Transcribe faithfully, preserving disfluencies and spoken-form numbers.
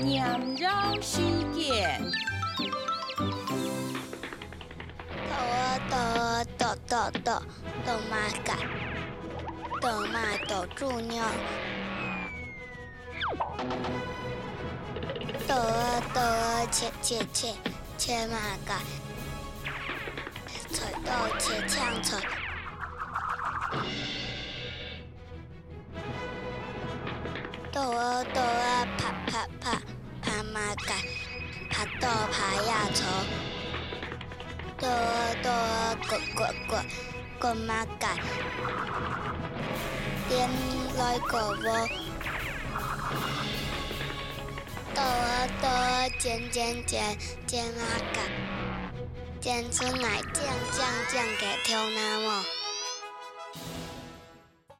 娘绕事件。 豆啊豆啊豆豆豆豆妈干，豆妈豆猪牛。豆啊豆啊切切切切妈干，菜豆切呛菜。豆啊豆啊拍拍拍拍妈干，拍豆拍呀炒。豆啊豆啊滚滚滚滚妈干，点来个窝。豆啊豆啊煎煎煎煎妈干，煎出来酱酱酱给挑那么。